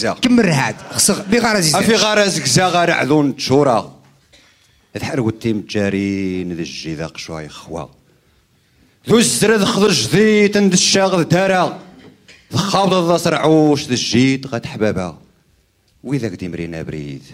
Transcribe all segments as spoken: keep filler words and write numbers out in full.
زكزا كمل هاد خصك بغرز في غرز كزا غير عذون تشورا الحرق التيم جارين ذا الجيذاق شوي خوا ذو الزرد خضر جديد عند الشاغ دارا خابط ذا سرعوش ذا الجيد غاد حبابا وإذا قدي مرينا بريد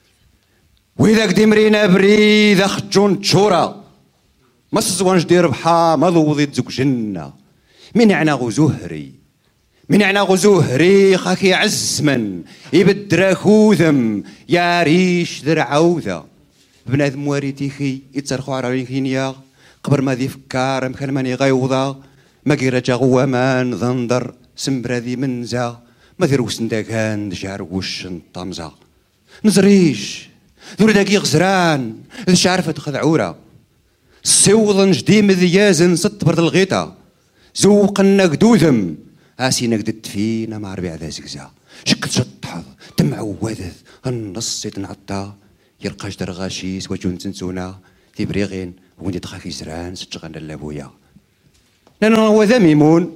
وإذا قدي مرينا بريد أخجون تشورا ما سزوان جدير بحا ما ذوضي تزوك جنة من يعناغو زهري من يعناغو زهري خاك يعز من يبدر خوذم يا ريش ذر عوذة بنادم واريتيخي يتسرخو على كينيا قبر ما ذي فكار مكان ماني غيوضا ما قيرجا غوامان ذنضر سمبرادي منزا ما ذي روسن داكان جار وش طمزة نزريش ذور داكي غزران ذي عارفة خذعورة سوضن جديم ذيازن ست برد الغيطة زوقنا قدوذم اسينا قدت فينا مع ربيع ذا زكزا شكت شطحظ تمعوذ النص يتنعطى يرقاش درغاشيس وجون تنسونا في بريغين وين تخاكي زران ستشغلنا اللابويا لأن هو ذا ميمون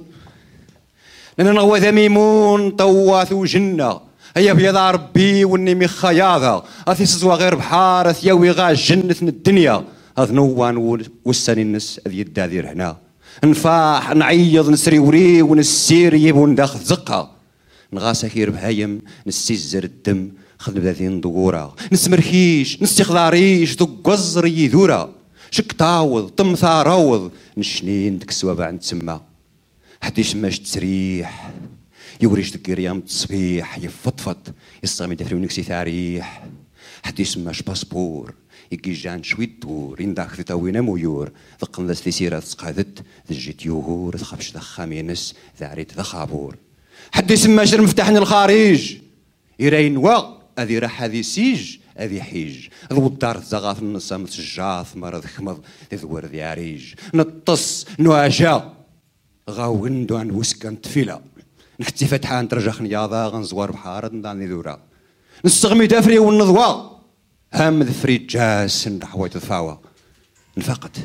لأن هو ذا ميمون طواث وجنة هيا بيض ربي والنمي خياضة أثي سزوا غير بحار ثياوي غا جنة الدنيا هذ نوان والساني النس أذي الدادير هنا نفاح نعيض نسري وري ونسير يبون داخل زقة نغاسا كير بهايم نسيزر الدم خذ بذين ضغورة نسمرخيش نستخضاريش ذو قزر يذورة شك طاوض طم ثاروض نشنين ديك السوابع نتسمى حديش ماش تسريح يوريش ديك ريام تصبيح يفضفض يصامي دفري ونكسي ثاريح حديش ماش باسبور يجي جان شوي دور ينداك في تاوينا ميور ذقن ذا سيرة تسقادت ذا جيت يوهور ذخبش ذا خامينس ذا عريت ذا خابور حديش ماش المفتاحن الخارج يراين وا هذه راح هذه سيج هذه حيج ذو الدار زغاث النصام سجاث مرض خمض ذور ذي عريج نطس نواجا غاوندو عن وسكن تفيلا نكتي فتحان ترجع خنياضة غنزوار بحارة نداني ذورا نستغمي دافري والنضوى هام ذفري جاس نحوي تدفاوى نفقت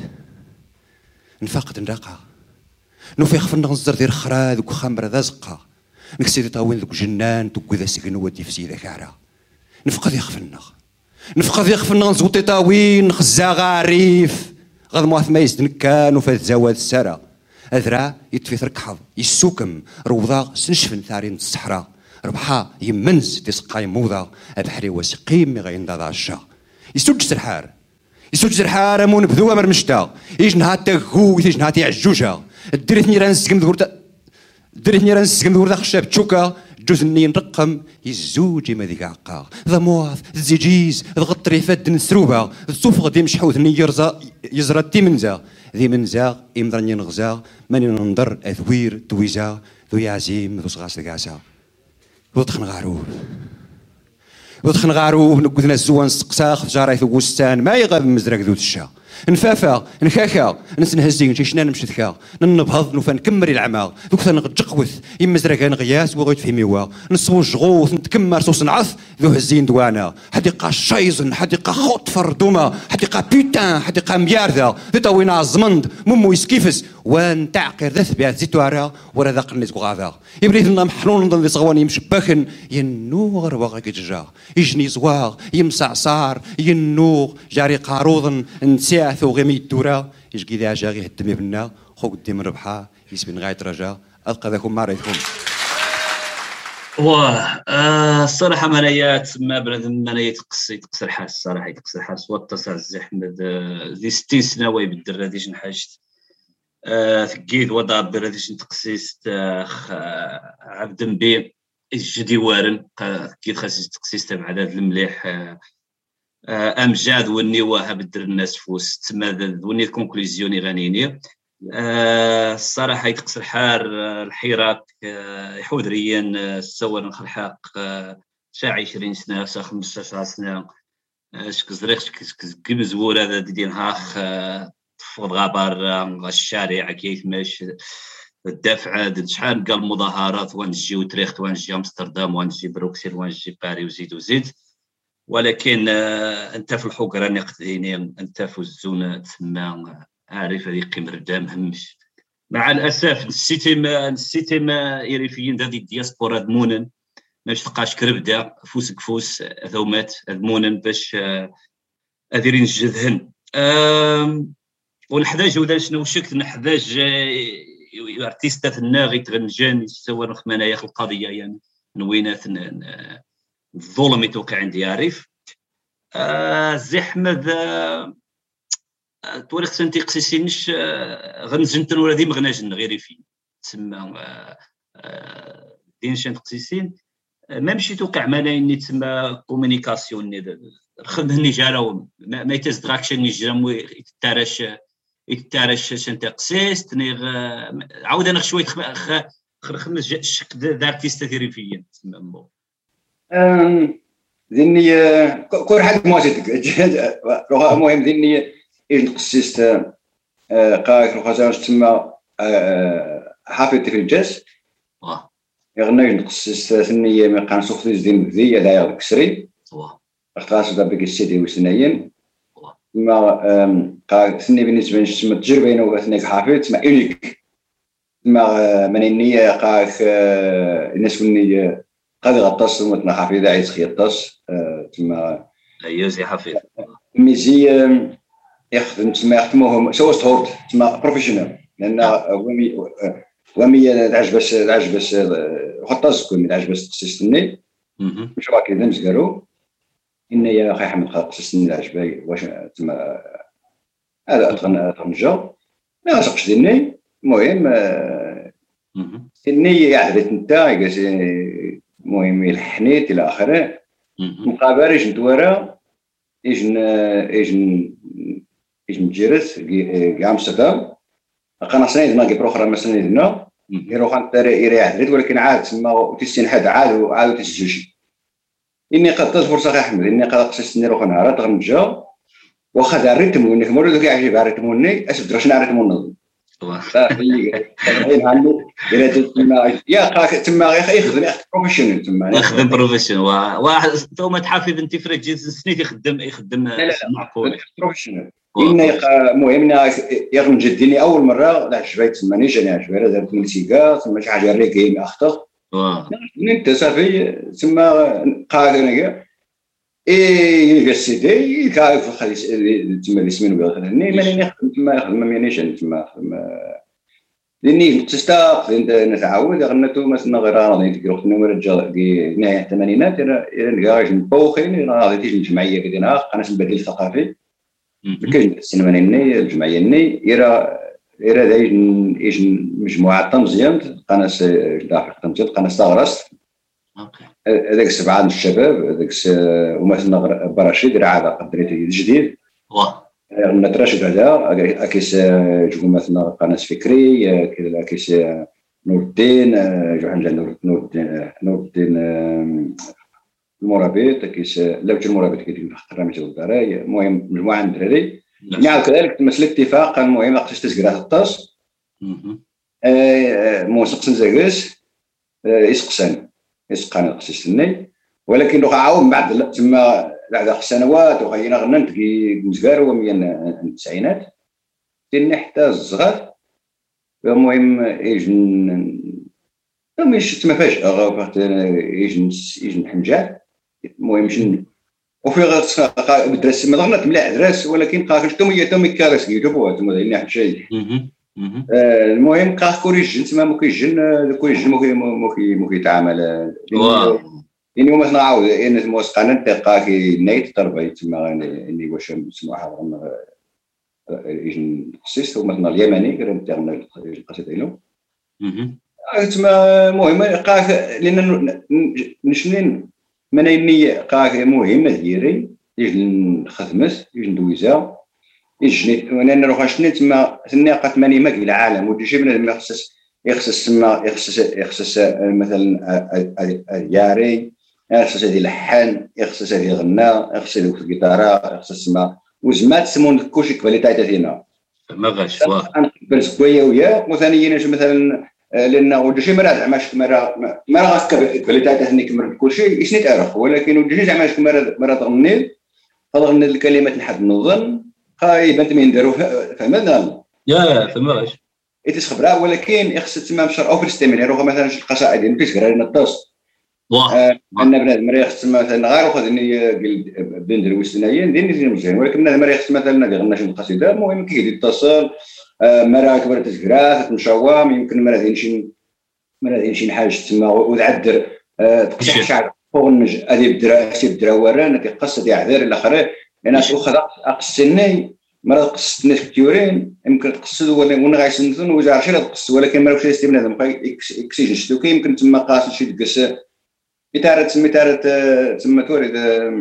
نفقت نراقها نفيخ في النغزر دير خراد وخمر ذا زقا نكسي طاوين ذوك جنان توكو ذا سكن ودي في سيدة كارا نفقد يخفنغ نفقد يخفنغ نزوطي طاوين نخزا غاريف غاد مواث ما يزدنكان وفات زواد السارة أذرا يتفي ثركحض يسوكم روضا سنشفن ثارين الصحراء ربحا يمنز تسقاي موضا أبحري وسقيم غين ذا الشا يسوج سرحار يسوج سرحار مون بذوة مرمشتا يجنها تغو يجنها تعجوجا الدريتني رانسكم ذورتا دريتني رانسكم ذورتا خشاب تشوكا جوز النين رقم يزوج ما ذيك عقا ذا مواث الزيجيز الغطري فد نسروبا الصوف غدي مشحوث ني يرزا يزرا تي منزا ذي منزا يمضرني نغزا ماني ننظر اذوير تويزا ذو يعزيم ذو صغاس ذكاسا ذو تخن غاروب ذو تخن غاروب نقذنا الزوان سقساخ جاراي ثو وستان ما يغاب مزرق ذو تشا نفافا نخاخا نسنهزين شيشنا نمشتكا ننبهض نوفا نكمر العمى ذوك نقجقوث يمزرق نغياس وغيت في ميوا نصو جغوث نتكمر صوص نعث ذو هزين دوانا حديقة شايزن حديقة خوت فردوما حديقة بيتان حديقة ميارذا ذي طوينا عزمند ممو يسكيفس وان تعقر ذا ثبات زيتوارا ورا ذا قنيت غاذا يبريد لنا محنون نظن ذي صغواني يمشبخن ينوغ رواغ كيتجا يجني زواغ يمسعصار ينوغ جاري قاروضن نسيع ثو غيمي الدورة يجي ذا جاغي هدمي بنا خو قدام ربحا يسبن غاية رجا ألقى ذاكم ما رأيتكم واه آه الصراحة منايات ما بنادم منايات تقصي تقصر حاس الصراحة يتقصر حاس واتسع الزحمة ذي ستين سنة وي بالدر هاديش نحاجت آه ثقيد وضع برديش نتقسيست آه عبد بي الجدي وارن كي خاص تقسيس تبع هذا المليح آه آه امجاد وني واه بدر الناس فوس تما وني كونكلوزيوني غنيني آه الصراحه يتقصر حار آه الحراك آه يحودريا آه سوى الحق آه شا عشرين سنه شا خمسطاش سنه اش كزريخ كي مزور هذا دي نهاخ آه فوق غابر آه الشارع كيف ماش الدفعه شحال قال مظاهرات ونجي وتريخت ونجي امستردام ونجي بروكسل ونجي باري وزيد وزيد ولكن آه انت في الحقره نقديني انت في الزونه تسمى عارف هذه قيمه الدم همش مع الاسف نسيتي ما نسيتي ما يريفيين هذه الدياسبورا دمونن باش تلقاش كربده فوسك فوس ثومات ذمونن باش اديرين الجذهن. ونحتاج ولا شنو شكت نحتاج ارتيستات الناغي تغنجان سوا نخمنا يا القضيه يعني نوينات الظلم يتوقع عندي عارف آه زي احمد آه توريخ سنتي قسيسينش آه غنزنتن ولا دي مغناجن غير في تسمى آه آه دين شان قسيسين آه ما مشي توقع مالاين تسمى كومونيكاسيون خدني جاراو ما يتزدراكشن يجرم يتارش يتارش شنت قسيس تنيغ عاود انا شويه خ خمس الشك دارتيست ثيري فيا تسمى ذني كل حد موجود روح مهم ذني إيش نقصيست قاك روح زاوج تسمى حافظ في الجس يغني نقصيست ثنية ما كان سوختي زين ذي لا يغكسري اختاس دابك السيدي وسنين ما قاك ثني بالنسبة للتسمى التجربة إنه ثني حافظ تسمى إونيك ما من النية قاك الناس مني قد غطاس ومتنا حفيظة عايز خيطاس تما يوزي حفيظ ميزي يخدم تما يخدموهم سوا ستورت تما بروفيشنال لان ومي ومي العجبس العجبس خطاس كون العجبس تسستني مش راكي دمز قالوا ان يا اخي احمد خاصني العجبي واش تما هذا اتغنى تنجا ما سقش ديني المهم النية عدت نتا المهم الحنيت الى اخره مقابله جنت ورا اجن اجن اجن جيرس كاع مستدام قنا سنيد ناقي بروخرا ما سنيدنا يروح انت يريح عدت ولكن عاد تما تسين حد عاد عاد تسجلشي اني قد فرصه احمد اني قد قصصني روح نهار غنجا واخا دار الريتم وانك مرة كاع يعجب الريتموني اسف درش نعرف الريتمون يا قاك تما يخدم بروفيشنال تما يخدم بروفيشنال واحد ثم تحافظ انت فرق جيت سنيت يخدم يخدم معقول بروفيشنال إن المهم يغني جديني اول مره عجبت تما ني جاني عجبت درت ملتيكا تما شي حاجه ريكي اخطر انت صافي تما قاك انا اي يونيفرسيتي كيف خلي تما الاسمين وغادي ماني نخدم تما نخدم مانيش تما لاني تستاق نتعود غنتو مثلا غير راضي نديرو النمره ديال نهايه الثمانينات الى نكاج نبوخين راضي تيجي الجمعيه كدينا قناه البديل الثقافي كاين السينما ني الجمعيه ني الى الى دايج ايش مجموعه طنجيان قناه داخل طنجيان قناه صغرس هذاك سبعه الشباب هذاك ومثلا براشيد راه عاد قدريتي جديد واه نتراشد هذا اكيس جو مثلا قناه فكري كذا اكيس نور الدين جو حنجا نور الدين نور الدين المرابط اكيس لوج المرابط كيدير خطره مثل الدراي المهم مجموعه من الدراري يعني كذلك تمثل اتفاق المهم خصك تسكرات الطاس ا موسق سنزاكس يسقسن يسقان قصيصني ولكن دوك عاود بعد تما بعد سنوات وغينا غننت كي مزكار ومن التسعينات تني حتى الصغار المهم يجن مش تما فجأة غا يجن يجن حنجال المهم شن وفي غا بدرس ما ضغنت ملاح درس ولكن قاكل تومي تومي كارس يجيبوها تما لاني حد شيء المهم قاك كوريجن تما مو كيجن كوريجن مو كي مو كيتعامل يعني مثلا عاود ان موسقنا دقه كي نيت تربي تما اني واش نسمعها يجن خصيص مثلا اليمني كان تاعنا القصيده ديالو تما المهم قاك لان نشنين منيني قاك مهمه ديالي يجن خدمت يجن دويزا يجني وانا نروح شني تما الناقه ثمانية ماك العالم ودي شي بنادم يخصص يخصص تما يخصص يخصص مثلا الياري يخصص هذه اللحن يخصص هذه الغناء يخصص هذه الجيتاره يخصص ما وزمات سمون كلشي كواليتي تاعنا ما غاش واه انا بس كويه وياه وثانيا مثلا لان ودي شي مرات زعما مره مره غاك كواليتي تاعنا كمر كلشي اش نتعرف ولكن ودي شي زعما مره مره تغني تغني الكلمات نحب نظن خايب انت من نديرو فهمنا يا فما غاش ايتش خبره ولكن يخص تما مشر او في الاستمرار يروح مثلا شي القصائد اللي كيتقرا لنا الطاس أن بنادم راه خص مثلا غير واخد إني بين درويش ثنايا ندير مزيان ولكن بنادم راه خص مثلا غير غنى شي القصيدة المهم كيجي يتصل مرة كبرت تزكرات تمشاوام يمكن مرة داير شي مرة داير شي حاجة تما وتعذر تقشع شعر فوق النج هذه بدرا سي بدرا وران تيقص تيعذر إلى آخره أنا واخد أقصني مرة قصت ناس كثيرين يمكن تقصد ولا ونا غايسنتون وجا عرفتي لا تقص ولكن ما واش يستي بنادم بقى يكسيجن شتو كاين يمكن تما قاص شي دقس إتارة تسمى إتارة تسمى تورد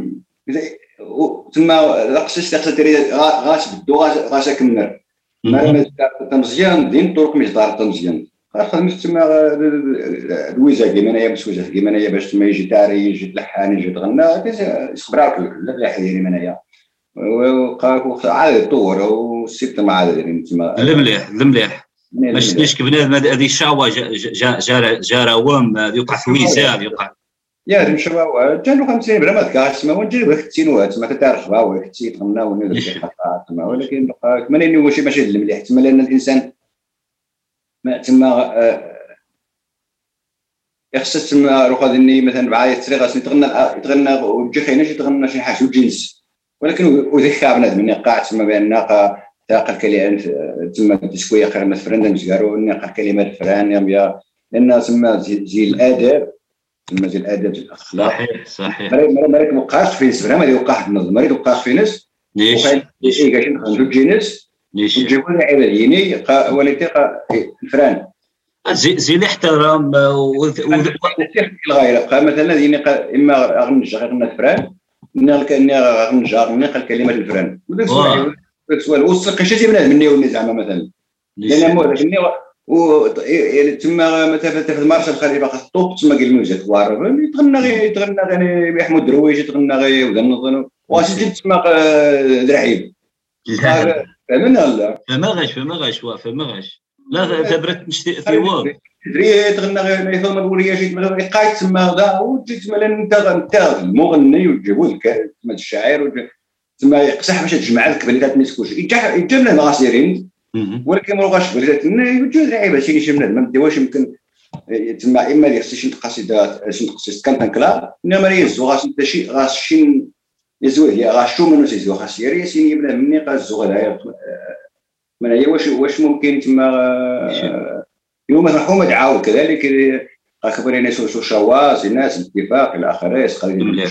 تسمى لقصص تقصد تري غاس بدو غاس غاس كنر ما ما تمزيان دين طرق مش دار تمزيان خاصة تسمى الويزا كيما أنايا باش وجه كيما أنايا باش تما يجي تاري يجي تلحن يجي تغنى يخبراك لا لا حيري من أنايا وقاك عاد يطور والست ما عاد يعني تسمى المليح المليح ما شفتيش كبنادم هذه الشاوة جا جا جا روام يوقع في ويزا يوقع يا المشروع جانو خمسين بلا ما تكاش تسمى ونجرب كتينوها تسمى كتعرف باوي كتي تغنى وندير شي حاجه تسمى ولكن بقى كما اني واش ماشي المليح تسمى لان الانسان ما تسمى يخص تسمى روح هذني مثلا بعاية تري غاسي تغنى يتغنى وتجي خاينه شي تغنى شي حاجه وجنس ولكن وذكر بنادم اللي قاعد تسمى بان تاقل كلمات تسمى تسويه قرمه فرندم زكارو نقل كلمات فران يا لان تسمى زي الاداب المجال الادب الاخلاق صحيح صحيح مريض مريض وقعت في ناس ما يوقع النظم مريض وقع في ناس ليش ليش اي كاين نخرجوا جينيس ليش نجيبوا لنا عباديني وليتي الفران زي زي الاحترام الغايه بقى مثلا ديني اما غنجا غنى الفران نلقى كاني غنجا نلقى كلمات الفران سؤال وصل شي بنادم مني ولا زعما مثلا لان مو لكني و تما مثلا في المارشال الخليفه خاص الطوب تما قال له جات وارب يتغنى غير يتغنى غير محمود درويش يتغنى غير ولا نظن واش جيت تما درعيب فهمنا لا فما غاش فما غاش فما غاش لا تبرت نشتي ثواب دري تغنى غير ما يفهم الوليه جيت مثلا قايت تما دا وجيت مثلا انت انت المغني وتجيبوا لك تما الشاعر تما يقصح باش تجمع لك بليدات ما يسكوش يجيب لنا غاسيرين ولكن ما بغاش بلاتنا يوجد لعيبه شي شي بنادم ما واش يمكن تما اما اللي خصك شي قصيده شي قصيده كانت كلا انما يزو غاس انت شي غاس شي يزو هي غاشو منو يزو خاص يري سيني بلا مني قازو غلايا من هي واش واش ممكن تما يوم الحكومه تعاود كذلك اخبرين ناس شو شواز الناس اتفاق الى اخره قال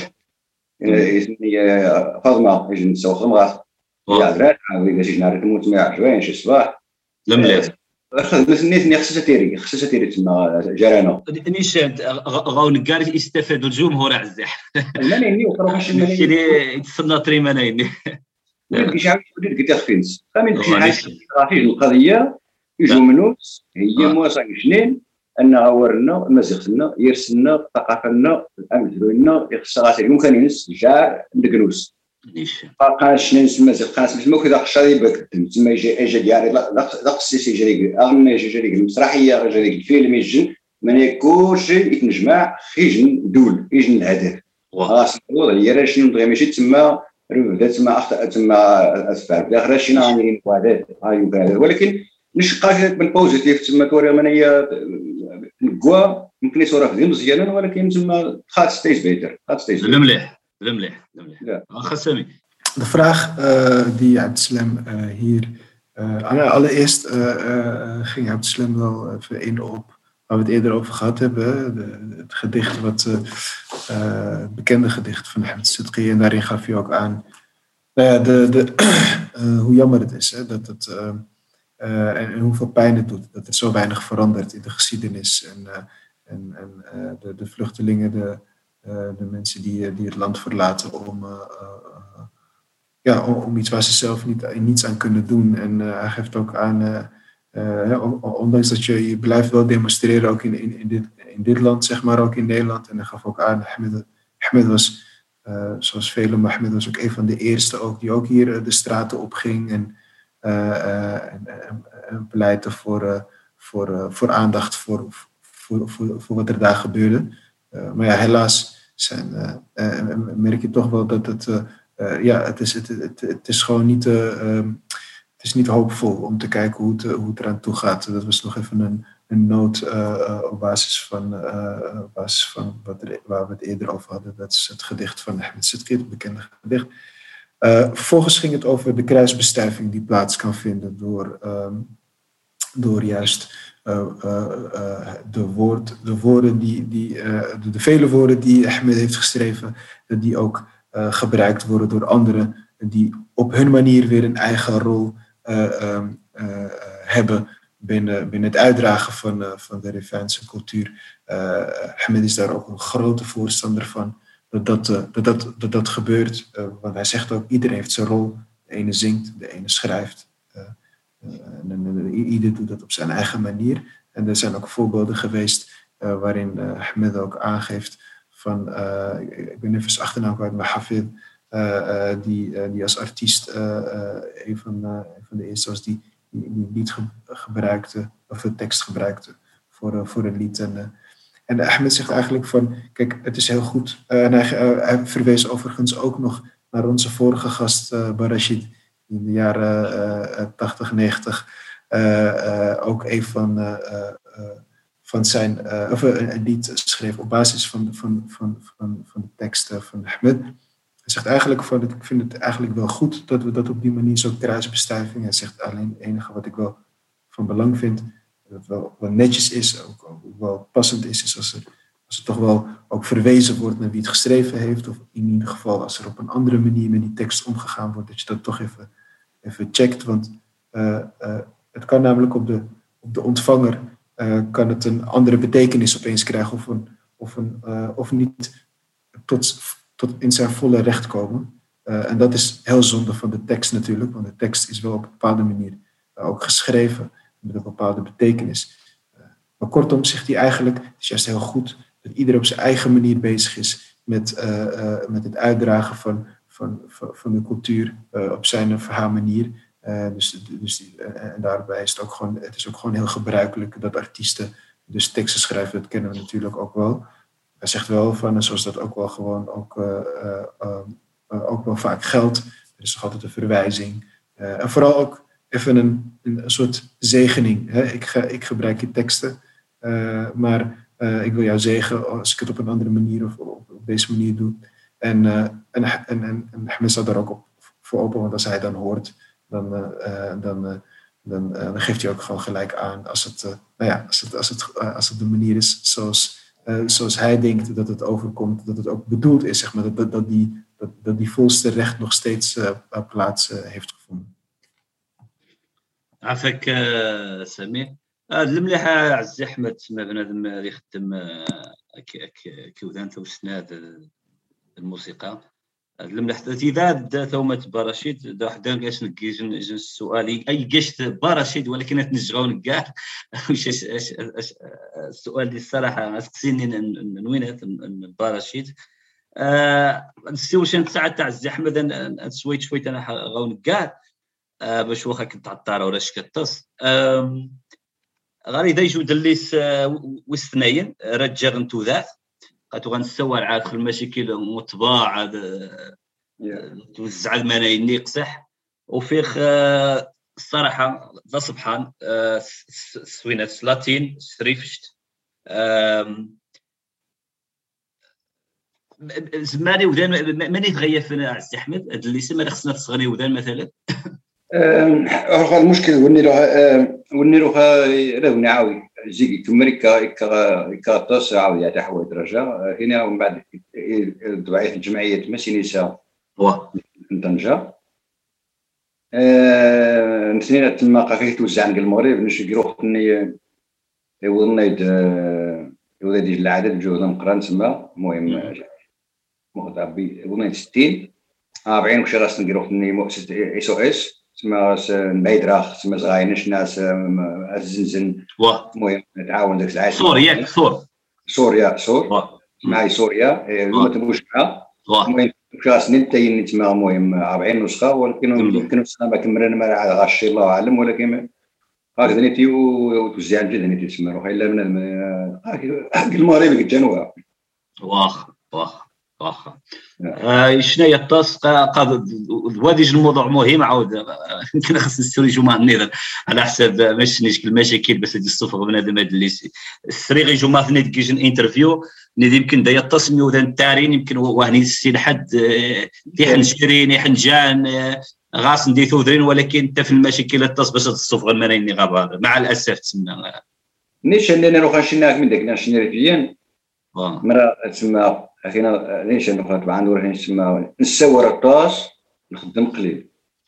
لي فاطمه يجي نسوي خمره يا درات عاودي شي نهار تموت ما عشرين شي صباح لم لا بس نيت خصها تيري خصها تيري تما جرانا نيشان غاون كاع يستفادوا الجمهور عزاح ماني ني وقرا باش ماشي لي يتصنى تري ماني كيش عاود قلت لك فينس خامين شي حاجه القضيه يجوا منوس هي مواسا شنين ان غورنا مازيغتنا يرسلنا ثقافتنا الامن ديالنا يخصها غاسي ممكن ينس جا ندقنوس ليش قاش نسمى مازال قاش ما كذا خشاري بك تما يجي اجا ديالي لا قصيتي جري اغنى جري المسرحيه جري الفيلم يجي من كلشي يتنجمع يجن دول يجن الهدف خلاص الوضع راه شنو بغي ماشي تما راه تما اخطا تما اسفار بالاخره شي غاديين وهذا هاي ولكن نشقى من بوزيتيف تما توري من هي الكوا يمكن يصورها في مزيانا ولكن تما خاص ستيج بيتر خاص ستيج المليح المليح المليح خاصني de vraag uh, die Abdeslam uh, hier uh, allereerst uh, uh, ging Abdeslam wel even in op waar we het eerder over gehad hebben, de, het gedicht wat uh, uh, het bekende gedicht van Ahmed Sidqi, en daarin gaf hij ook aan nou ja, de, de, uh, hoe jammer het is hè, dat het uh, uh, en, en hoeveel pijn het doet dat er zo weinig verandert in de geschiedenis en, uh, en, en uh, de, de vluchtelingen, de Uh, de mensen die, die het land verlaten om, uh, uh, ja, om, om iets waar ze zelf niet, niets aan kunnen doen. En uh, hij geeft ook aan, uh, uh, ja, ondanks dat je, je blijft wel demonstreren, ook in, in, in, dit, in dit land, zeg maar, ook in Nederland. En hij gaf ook aan, Ahmed, Ahmed was, uh, zoals velen, maar Ahmed was ook een van de eerste ook, die ook hier uh, de straten opging en, uh, uh, en, en, en pleitte voor, uh, voor, uh, voor aandacht voor, voor, voor, voor wat er daar gebeurde. Uh, maar ja, helaas zijn, uh, uh, merk je toch wel dat het, uh, uh, ja, het, is, het, het, het is gewoon niet, uh, um, het is niet hoopvol om te kijken hoe het, uh, hoe het eraan toe gaat. Dat was nog even een, een noot uh, uh, op basis van, uh, op basis van wat er, waar we het eerder over hadden. Dat is het gedicht van Ahmed Sidqi, het bekende gedicht. Uh, vervolgens ging het over de kruisbestuiving die plaats kan vinden door, um, door juist uh, uh, uh, de, woord, de woorden die, die uh, de, de vele woorden die Ahmed heeft geschreven, die ook uh, gebruikt worden door anderen die op hun manier weer een eigen rol uh, um, uh, hebben binnen, binnen het uitdragen van, uh, van de Rifaanse cultuur. Uh, Ahmed is daar ook een grote voorstander van. Dat dat, uh, dat, dat, dat, dat gebeurt. Uh, want hij zegt ook, iedereen heeft zijn rol. De ene zingt, de ene schrijft. Uh, uh, en, en, ieder doet dat op zijn eigen manier. En er zijn ook voorbeelden geweest uh, waarin uh, Ahmed ook aangeeft van, uh, ik, ik ben even zijn achternaam kwijt, maar Hafid, uh, uh, die, uh, die als artiest uh, uh, een, van, uh, een van de eerste was die die, die lied ge, gebruikte, of de tekst gebruikte voor, uh, voor een lied. En, uh, En Ahmed zegt eigenlijk van, kijk, het is heel goed. Uh, en hij, uh, hij verwees overigens ook nog naar onze vorige gast, uh, Barashid, die in de jaren uh, tachtig, negentig uh, uh, ook een van, uh, uh, van zijn, uh, of uh, een lied schreef op basis van, van, van, van, van de teksten van Ahmed. Hij zegt eigenlijk van, ik vind het eigenlijk wel goed dat we dat op die manier zo kruisbestuiving. Hij zegt alleen het enige wat ik wel van belang vind, dat het wel, wel netjes is, ook, ook wel passend is, is als er, als er toch wel ook verwezen wordt naar wie het geschreven heeft, of in ieder geval als er op een andere manier met die tekst omgegaan wordt, dat je dat toch even, even checkt. Want uh, uh, het kan namelijk op de, op de ontvanger uh, kan het een andere betekenis opeens krijgen, of, een, of, een, uh, of niet tot, tot in zijn volle recht komen. Uh, en dat is heel zonde van de tekst natuurlijk, want de tekst is wel op een bepaalde manier uh, ook geschreven met een bepaalde betekenis. Uh, maar kortom zegt hij eigenlijk, het is juist heel goed dat ieder op zijn eigen manier bezig is met, uh, uh, met het uitdragen van, van, van, van de cultuur uh, op zijn of haar manier. Uh, dus, dus, uh, en daarbij is het ook gewoon, het is ook gewoon heel gebruikelijk dat artiesten dus teksten schrijven, dat kennen we natuurlijk ook wel. Hij zegt wel van, zoals dat ook wel gewoon ook, uh, uh, uh, uh, ook wel vaak geldt, er is toch altijd een verwijzing. Uh, en vooral ook even een, een soort zegening. Hè? Ik, ga, ik gebruik je teksten, uh, maar uh, ik wil jou zegen als ik het op een andere manier of op, op deze manier doe. En, uh, en, en, en, en Ahmed staat daar ook op voor open, want als hij dan hoort, dan, uh, dan, uh, dan, uh, dan geeft hij ook gewoon gelijk aan als het, uh, nou ja, als het, als het, uh, als het de manier is zoals, uh, zoals hij denkt dat het overkomt, dat het ook bedoeld is, zeg maar, dat, dat, dat, die, dat, dat die volste recht nog steeds uh, plaats uh, heeft gevonden. عافاك سمير. المليح عزيز احمد تما بنادم اللي يخدم كيودان توسناد الموسيقى المليح اذا ثومه براشيد دا حدا كاش نكي جن السؤال اي كاش براشيد ولكن نتنجغون كاع واش السؤال ديال الصراحه سقسيني نوينات براشيد السيوشن تاع تاع عزيز احمد شويت شويت انا غون كاع باش واخا كنت عطاره ولا شكطس غادي دا يجود الليس وستناين رجع نتو ذات قاتو غنسوى عاد في المشاكل مطباع توزع المناين نيقصح وفيخ الصراحه ذا سبحان سوينات لاتين سريفشت زماني ودان ماني تغير فينا عزيز احمد هاد الليس ما خصنا تصغني ودان مثلا أه المشكل وني له وني له له نعاوي زي كمريكا كا كاطس عاوي يا تحوي درجة هنا ومن بعد دعاية الجمعية مسينيسا في طنجة أه نسينا تما قافيه توزع عن المغرب نشي يروح ني يوضنا يد يوضنا يد العدد جوهنا مقران تما المهم مخطع بي يوضنا ستين أربعين وش راس نروح ني مؤسسة إس أو إس تما نبيدراخ تما صغاينش ناس الزنزن المهم نتعاون داك العاشر سوريا سور سوريا سور معي سوريا ما تبوش معها المهم كلاس نتاين تما المهم أربعين نسخة ولكن يمكن نسخة ما كملنا ما غاشي الله أعلم ولكن هكذا نيتي وتوزع جدا نيتي تسمى روح إلا من المغرب الجنوب واخ واخ واخا آه شنو هي الطاس قاد وهذا الموضوع مهم عاود يمكن خصنا نستوريجو مع النظام على حساب ماشي نشكل المشاكل بس هذه الصفه بنادم هذا اللي السريغي جو ما فني كيجن انترفيو ندي يمكن دايا التصميم وذا التارين يمكن وهني السي لحد تيحن شيرين يحن جان غاس ندي ثوذرين ولكن انت في المشاكل الطاس باش تصفغ المنايني غابه مع الاسف تسمى نيش اننا نروح نشناك من داك نشني ريفيان مرة تسمى أخينا ليش نروح طبعا نروح نسمى نسور الطاس نخدم قليل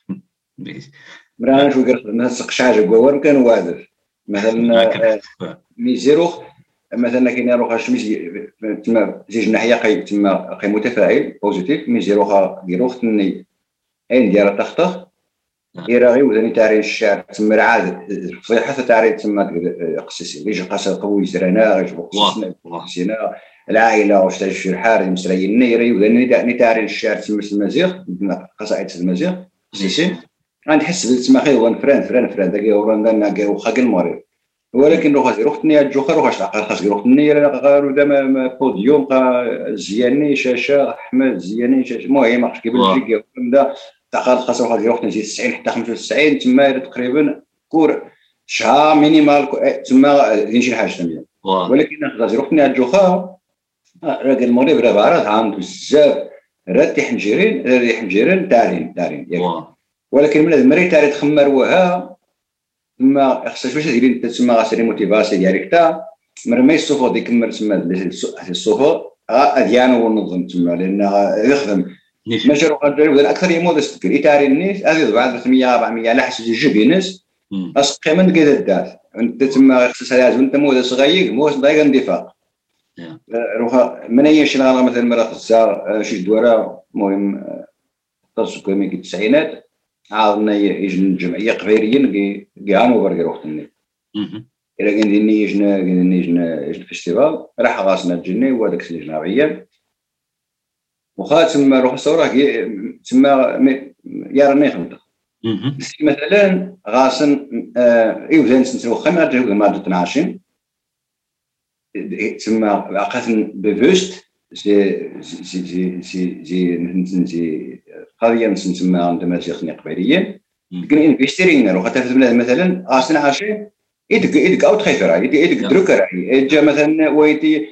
مرة نشوف نسق شحاجة جوار كان وادر مثلا ميزيروخ مثلا كي نروح شمس تسمى زيج ناحية قي تسمى قي متفاعل بوزيتيف ميزيروخ ديروخ تني عين ديال التخطخ يراغي وذني تاريخ الشعر تسمى عاد فصيحة تاريخ تسمى قصصي ليش قصة قوي سرنا غيش بقصصنا قصصنا العائلة واش تعيش في الحارة مسريين نيري وذني تاريخ الشعر تسمى المزيغ قصائد المزيغ قصصي غنحس بالتسمى خير وان فران فران فران داكي وران كاع وخا المريض ولكن روح روح تني الجوخر روح خاص يروح تني غير دام بوديوم زياني شاشة احمد زياني شاشة المهم عرفتي كيف الجيك دا تقال خاص واحد يروح نزيد تسعين حتى خمسة وتسعين تما تقريبا كور شهر مينيمال تما داير شي حاجه ثانيه ولكن خاص يروح تني الجوخا راه المغرب راه بعرض عام بزاف راه تيحنجرين راه يحنجرين تارين تارين ياك ولكن من المري تاري تخمر وها ما خصك باش ديري انت تسمى غاسيري موتيفاسي ديالك تا مرمي الصوفو ديك المر تسمى الصوفو اديانو ونظم تسمى لان يخدم ماشي روح ندير اكثر يمود استكري تاري الناس هذه بعد ثلاثمية أربعمية على حسب جيبي ناس اسقي من كذا الدات انت تسمى خصك لازم انت مود صغير مود ضايق اندفاق روح من اي شي نهار مثلا مرة خصها شي دوره المهم تصل كمية التسعينات عاودنا يجي الجمعيه قبيريين كاع نوبر يروح تني الا كان ديني يجنا كان يجنا يجنا فيستيفال راح غاسنا الجني وهذاك السنه جنابيه وخا تما روح الصوره تما يا راني خمطه مثلا غاسن ايوزان سنتو خمر جو ما اثناش تما عقاتن بفوست سي سي سي سي سي سي قضيه نسمى عندما شيخني قبيليين كان انفيستيرين روح حتى مثلا غاسن عاشين يدك يدك او تخيفر يدك دروكر جا مثلا ويتي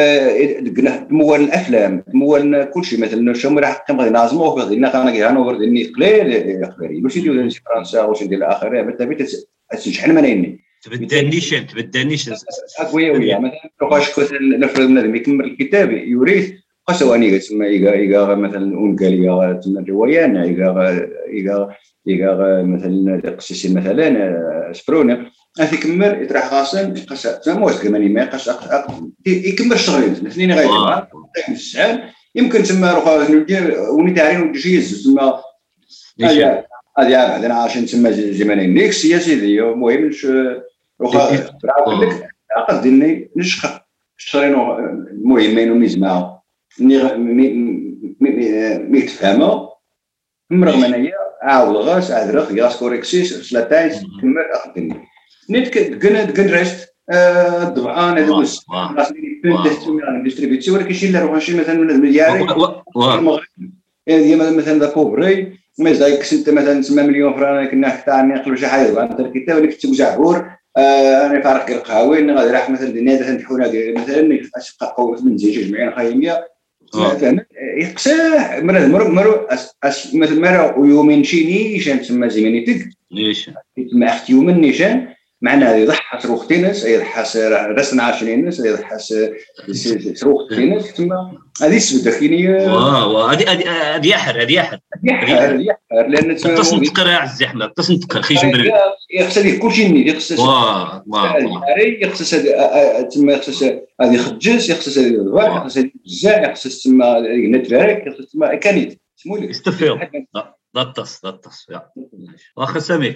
تمول الافلام تمول كل شيء مثلا شو راح كم غادي نازمو غادي انا كي هانوفر ديني قليل قبيلي واش يديروا في فرنسا واش ندير الاخر بالتالي تشحن منيني تبدا نيشان تبدا نيشان اكويا ويا مثلا واش كنت نفرض بنادم يكمل الكتاب يوريث قسواني تسمى يقا مثلا اونكاليا تسمى روايان يقا يقا يقا مثلا قصصي مثلا سبرونه هذيك كمل يطرح غاسن قصه تسمى واش كمان ما يقاش يكمل الشغلين الاثنين غايبين السعال يمكن تسمى روح وني تاعين وجيز تسمى هذه هذه بعدين عشان تسمى زمانين ديك السياسي دي المهم واخا برافو لك عقد ديني نشخ شرينو المهمين وميزما مي مي تفهموا مرغم انايا عاود غاس ادرخ غاس كوريكسيس سلاتايس كمل اخدني نيت كنا كنرست الضبعان هذوك غاسني بنت تسمى على ديستريبيوسيون ولكن شي اللي روح شي مثلا من الملياري المغرب هذه مثلا ذا كوبري ما زايك انت مثلا تسمى مليون فرانك كنا حتى نقلوا شي حاجه عن الكتاب اللي كتب زعبور انا فارق القهاوي غادي راح مثلا الناس تنحونا مثلا قوه من زيج جمعين خايميه فهمت يقساه مره مره مثلا مره ويومين شي نيشان تسمى زيمانيتك نيشان تسمى اختي يوم نيشان معناها يضحى صاروخ تنس يضحى رسنا عشرين ناس يضحى صاروخ تنس تما هذه السبده كاينه واه هذه هذه يحر هذه يحر يحر يحر لان تصن تقرا عز احمد تصن تقرا خي جمبري يخص هذيك كلشي نيت يخص واه واه يخص تما يخص هذه خجز يخص هذه الضباع يخص هذه الجزاء يخص تما نتفارك يخص تما كانيت سمولك استفيو لا تص لا تص واخا سامي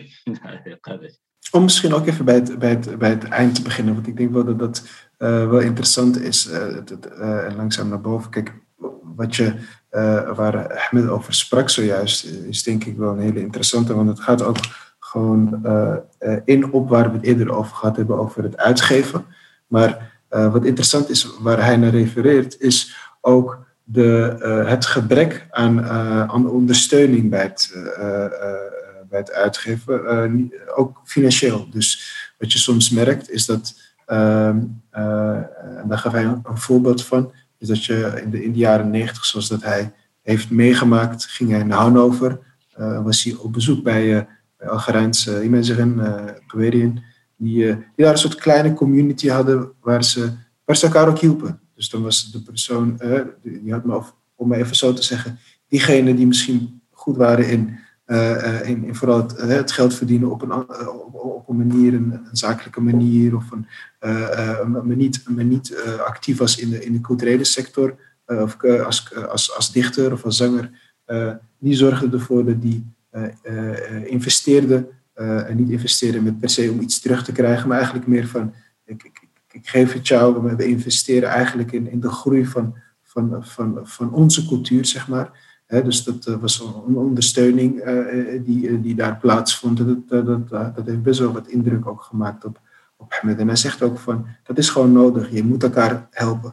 Om misschien ook even bij het, bij, het, bij het eind te beginnen, want ik denk wel dat dat uh, wel interessant is uh, dat, uh, en langzaam naar boven. Kijk, wat je, uh, waar Ahmed over sprak zojuist, is denk ik wel een hele interessante, want het gaat ook gewoon uh, uh, in op waar we het eerder over gehad hebben, over het uitgeven. Maar uh, wat interessant is, waar hij naar refereert, is ook de, uh, het gebrek aan, uh, aan ondersteuning bij het, uh, uh, bij het uitgeven, uh, niet, ook financieel. Dus wat je soms merkt is dat, uh, uh, en daar gaf hij een, een voorbeeld van, is dat je in de, in de jaren negentig, zoals dat hij heeft meegemaakt, ging hij naar Hannover, uh, was hij op bezoek bij, uh, bij Algerijnse uh, mensen, uh, Geweriën, die, uh, die daar een soort kleine community hadden waar ze, waar ze elkaar ook hielpen. Dus dan was de persoon, uh, die had me, om me even zo te zeggen, diegenen die misschien goed waren in, uh, in, in vooral het, uh, het geld verdienen op een, uh, op, op een manier, een, een zakelijke manier, of een, uh, uh, maar niet, maar niet uh, actief was in de, in de culturele sector, uh, of uh, als, uh, als, als dichter of als zanger, uh, die zorgden ervoor dat die uh, uh, investeerden, uh, en niet investeerden met per se om iets terug te krijgen, maar eigenlijk meer van, ik, ik, ik geef het jou, we investeren eigenlijk in, in de groei van, van, van, van onze cultuur, zeg maar. He, dus dat uh, was een ondersteuning uh, die, uh, die daar plaatsvond. Dat, dat, dat, dat heeft best wel wat indruk ook gemaakt op, op Ahmed. En hij zegt ook van, dat is gewoon nodig. Je moet elkaar helpen.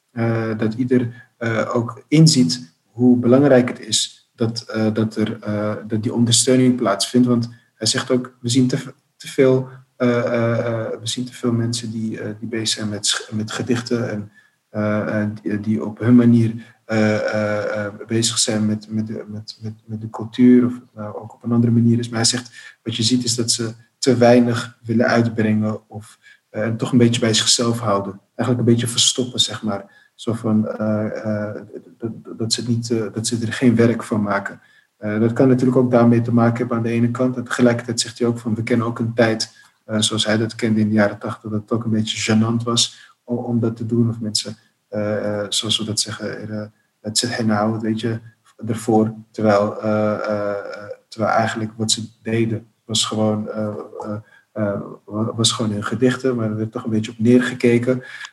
Uh, dat ieder uh, ook inziet hoe belangrijk het is dat, uh, dat, er, uh, dat die ondersteuning plaatsvindt. Want hij zegt ook, we zien te, te veel... Uh, uh, we zien te veel mensen die, uh, die bezig zijn met, met gedichten en uh, die, die op hun manier uh, uh, uh, bezig zijn met, met, de, met, met, met de cultuur, of het nou ook op een andere manier is. Maar hij zegt, wat je ziet is dat ze te weinig willen uitbrengen of uh, en toch een beetje bij zichzelf houden. Eigenlijk een beetje verstoppen, zeg maar. Zo van, uh, uh, dat, dat, ze niet, uh, dat ze er geen werk van maken. Uh, dat kan natuurlijk ook daarmee te maken hebben aan de ene kant. En tegelijkertijd zegt hij ook van, we kennen ook een tijd... Uh, zoals hij dat kende in de jaren tachtig, dat het ook een beetje gênant was om, om dat te doen. Of mensen, uh, uh, zoals we dat zeggen, uh, het zit geen nou, weet je, ervoor. Terwijl, uh, uh, terwijl eigenlijk wat ze deden was gewoon, uh, uh, uh, was gewoon in gedichten, maar er werd toch een beetje op neergekeken.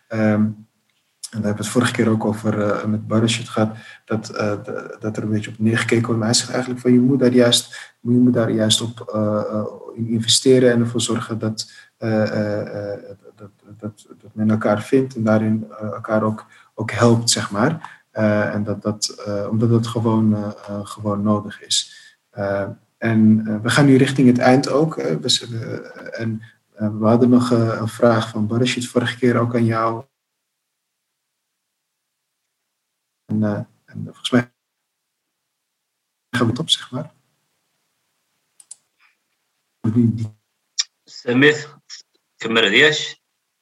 Um, en daar hebben we het vorige keer ook over uh, met Barashid gehad, dat, uh, de, dat er een beetje op neergekeken wordt. Maar hij zegt eigenlijk van, je moet daar juist, je moet daar juist op uh, uh, in investeren en ervoor zorgen dat, uh, uh, uh, dat, dat, dat men elkaar vindt en daarin uh, elkaar ook, ook helpt, zeg maar. Uh, en dat dat, uh, omdat dat gewoon, uh, uh, gewoon nodig is. Uh, en uh, we gaan nu richting het eind ook. Uh, we, uh, en uh, we hadden nog uh, een vraag van Barashid vorige keer ook aan jou. En, uh, en volgens mij gaan we het op, zeg maar. سميت كمل دياش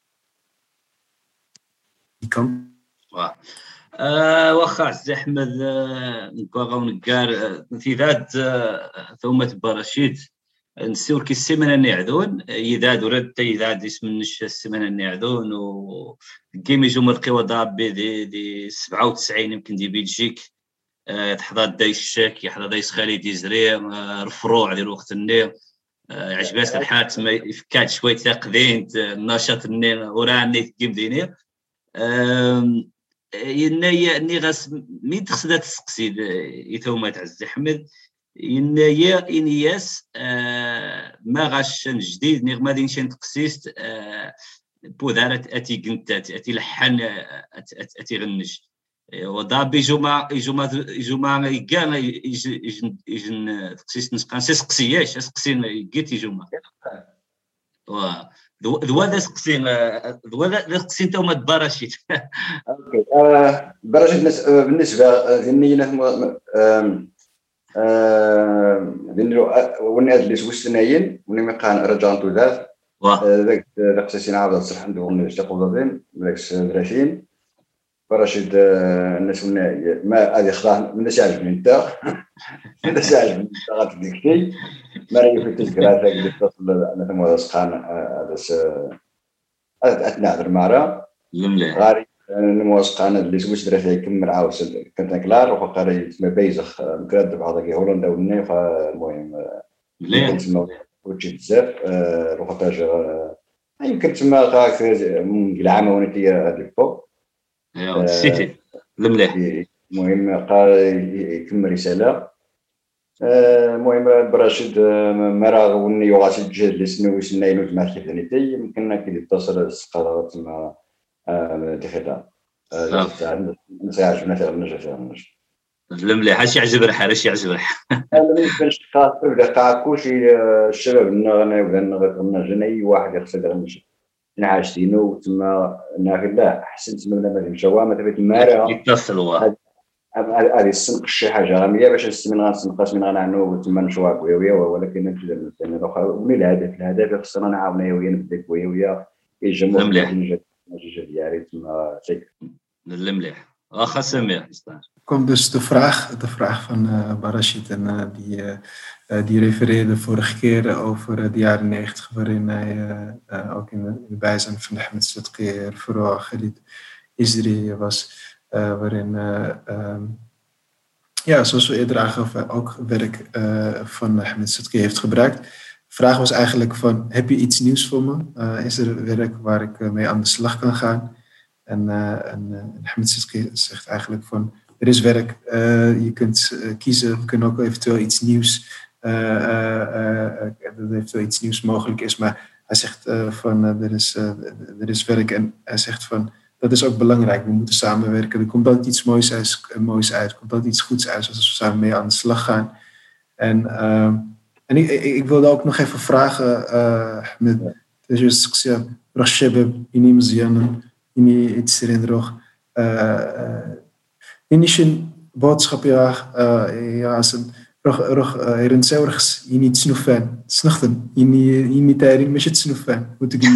die kan. واه آه واخا عزيز احمد نكون ونكار امتداد ثومة براشيد نسيو كي السيمانه نعدون يداد ورد يداد اسم النش السيمانه نعدون و كيما يجو مرقيو ضابي دي دي سبعة وتسعين يمكن دي بلجيك يحضر دايس الشاك يحضر دايس خالد يزري الفروع ديال وقت النيل عجبات الحال تما يفكات شويه تاقدين النشاط النيل وراني تقيم دينير ينايا ني غاس مي تخصدا تسقسي يثومات عز احمد ينايا انياس ما غاش جديد ني غادي نمشي نتقسيست بودارت اتي كنتات اتي لحن اتي غنج وضابي جمعة جمعة جمعة كان يجن يجن تقسيس نسقان سقسياش سقسين قيتي جمعة و ذو هذا سقسين ذو هذا سقسين تو ما تباراشيت اوكي براشيت بالنسبه للنية لانه والناس اللي سوستناين وني كان رجعتو ذات ذاك القصصين عاود صح عندهم تقول بالعكس دراسين براشد الناس ما هذه خلاص من سالف من انت من سالف من غادي ديكتي ما راهي في التذكره ذاك اللي تصل انا ثم سخان هذا هذا نهضر معها غاري نموسق انا اللي سويت درت يكمل عاوس كنت كلار وقاري ما بيزخ مكرد هذاك هولندا والنيف المهم مليح تسمى وجه بزاف روحاج يمكن تسمى غاك من العام ونتي هذيك فوق ايوا السيتي المليح المهم قال يكمل رساله المهم براشد مرا وني وغاسي جل سنو سنين وجمع كيفنيتي يمكن كي يتصل السقاره مع دخلها نسى عجبنا تاع النجا تاع النجا المليح اش يعجب ريح اش يعجب ريح انا بالنسبه للشقاق ولا قاع كلشي الشباب النغنى ولا النغنى اي واحد يقصد النجا نعاشتينو تما ناكل لا احسن تما ما مشاوه ما تبيت المارا يتصلوا هذه السنق شي حاجه غاميه باش نستمن غنسنقاش من غنعنو تما نشوا كويويه ولكن نمشي للثاني الاخر ومن الهدف الهدف خصنا نعاونوا يا ويا نبدا كويويه يجمعوا مليح ديالي تما شيء المليح واخا سمير Komt dus de vraag, de vraag van uh, Barashid en uh, die, uh, die refereerde vorige keer over uh, de jaren negentig, waarin hij uh, uh, ook in de, in de bijzijn van Ahmed Sadqi, vooral Khalid Isri was, uh, waarin, uh, um, ja, zoals we eerder aangaven, ook werk uh, van Ahmed Sadqi heeft gebruikt. De vraag was eigenlijk van, heb je iets nieuws voor me? Uh, is er werk waar ik uh, mee aan de slag kan gaan? En, uh, en uh, Ahmed Sadqi zegt eigenlijk van, er is werk, uh, je kunt uh, kiezen, we kunnen ook eventueel iets nieuws, uh, uh, uh, dat eventueel iets nieuws mogelijk is, maar hij zegt uh, van uh, er, is, uh, er is werk en hij zegt van dat is ook belangrijk, we moeten samenwerken, er komt altijd iets moois uit, uh, moois uit, er komt altijd iets goeds uit als we samen mee aan de slag gaan. En, uh, en ik, ik, ik wilde ook nog even vragen, uh, met deze discussie, Rashebeb, Ini Mzianen, Ini Itsirin Initiën boodschap ja, uh, ja, als een rog rog erin zelfs je niet snoefen, snachten, je niet je niet daarin met je snoefen, moet ik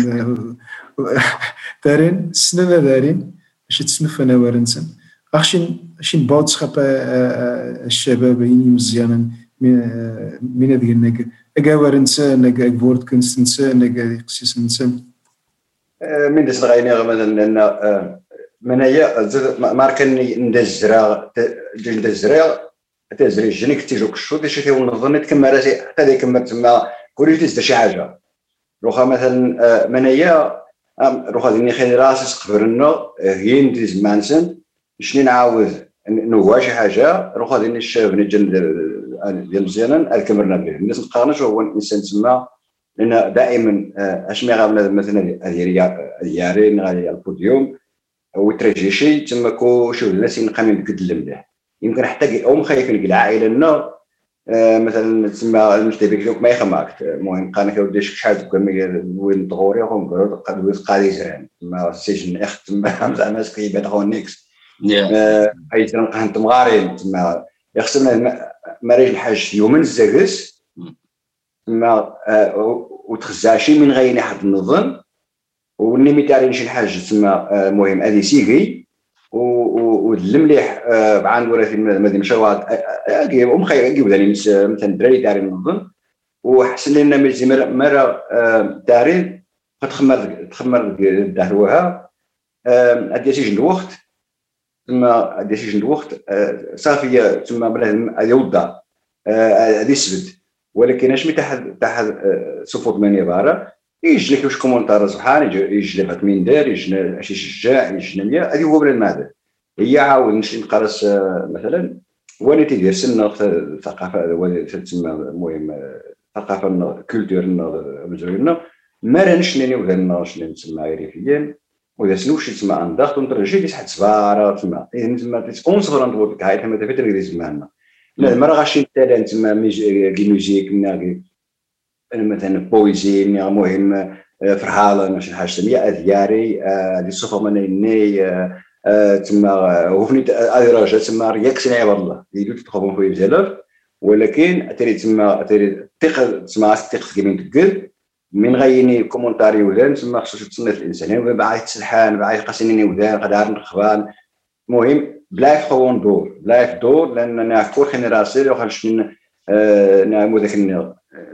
daarin sneller daarin, als je snoefen nou erin zijn. Als je als je boodschappen الشباب je niet مزيانا من هذه النجا أجاور إنسان نجا woordkunst إنسان نجا قصص إنسان من دس غيني مثلا لأن من هي ماركن ندزرا ندزرا تزري جنيك تيجوك الشوط دي شي ونظن كما راسي حتى ديك كما تما كوري تزد شي حاجه روخا مثلا من هي روخا ديني خير راسي قبرنا هي نديز مانسن شنو نعاود نوا شي حاجه روخا ديني الشاب نجن ديال مزيانا الكمرنا به الناس نقارنش هو الانسان تما لان دائما اش مي غابنا مثلا هذه ديالي غادي على البوديوم وترجي شي تما كو شوف الناس ينقامين بقد المليح يمكن حتى او خايفين العائله لنا آه مثلا تسمى المشتبك ما يخماك المهم قانا كيودي شحال وين طغوري هم قالوا قد قادي زران تما السجن اخت تما زعما سكيبه تغونيكس اي تنقى انت مغارين تما يخصنا مريج الحاج يومين الزاكس تما وتخزاشي من غير حد النظام ونمي تاعين شي حاجه تسمى المهم هذه سيغي والمليح بعان ورثي المدينه شواط ام خير نجيب ثاني مثلا الدراري تاعين نظن وحسن لنا مزي مره دارين تخمر تخمر داروها ادي سيجن الوقت ثم ادي سيجن الوقت صافي ثم بلا يوضا هذه السبت ولكن اش مي تحت تحت صفوت من يباره يجي لك واش كومونتار سبحان يجي لك من دار يجي شي شجاع يجي مية هذه هو بلا الماده هي عاود نمشي نقرص مثلا وانا تيدير سنه الثقافه تسمى المهم ثقافه كولتورنا مزيونه ما رانش ناني وذا شنو نسمى عرفيا وذا شنو شي تسمى انضغط ونترجي لي تحت سباره تسمى تسمى تسبونسر نقول لك هاي حنا دابا تريد زماننا لا ما راه غاشي مثلا تسمى ميوزيك مثلا بويزي المهم فرحاله ماشي حاجه سميه دياري هذه الصفه مني تما وفني ادراجه تما رياكسيون والله يدو تخوفون في بزاف ولكن تري تما تري ثقه تما ثقه كيما تقول من غيني كومونتاري ولا تما خصو تصنيف الانسان باعي تسلحان باعي قاسيني وذا قدار نخبان المهم بلا يخون دور بلا دور لان انا كل جينيراسيون وخاش من نعم ذاك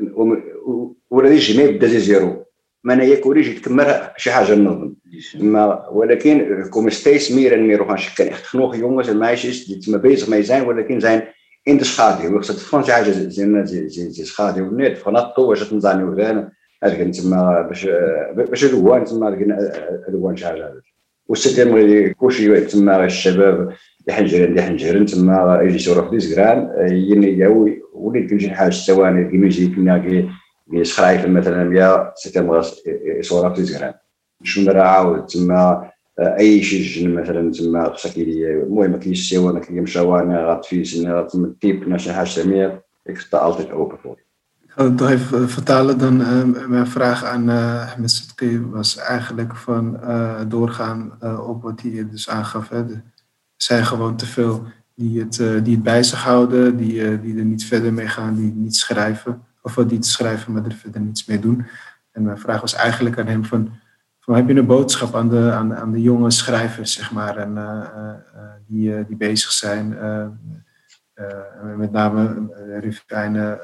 ولا الجميع بدا زيرو ما انا ياك وريجي تكمل شي حاجه نظن ما ولكن كوم ستيس ميرا ميرو خاش كان خنوخ يونغ ما عايش تما بيزغ ما يزين ولكن زين انت شخادي وخصك تفهم شي حاجه زين زي زي شخادي ونيت فنطو واش تنزاني وذا هذاك تما باش باش الوان تما الوان شي حاجه والسيتم كلشي تما الشباب يحنجرين يحنجرين تما يجي يشرف في زكران يني وليت كنجي حاجه ثواني كيميجي كنا يسخرايف مثلا يا سيتم يصور في زكران شنو راه عاود تما اي شي جن مثلا تما خصك المهم كاينش سوا ما كيمشاوانا غاتفيس غاتمتيب ناش حاجه سميه ik sta altijd open voor. Ik ga het nog even vertalen dan. Uh, mijn vraag aan uh, Ahmed Siddiqui was eigenlijk van uh, doorgaan uh, op wat hij dus aangaf. Hè. Er zijn gewoon te veel die het, uh, die het bij zich houden, die, uh, die er niet verder mee gaan, die niet schrijven. Of wat die te schrijven, maar er verder niets mee doen. En mijn vraag was eigenlijk aan hem van, van heb je een boodschap aan de, aan, aan de jonge schrijvers, zeg maar, en, uh, uh, die, uh, die bezig zijn, uh, uh, met name uh, Rivijn. Uh,